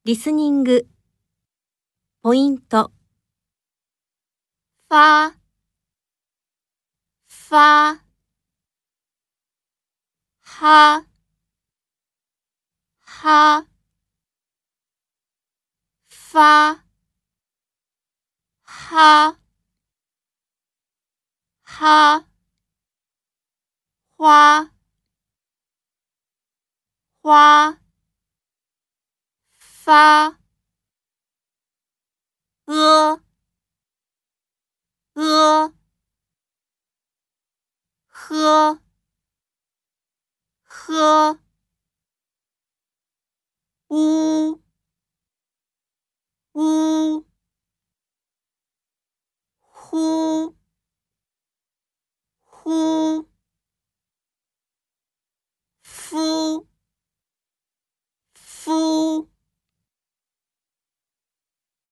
リスニングポイント发发哈哈发哈哈花花发喝喝呜呼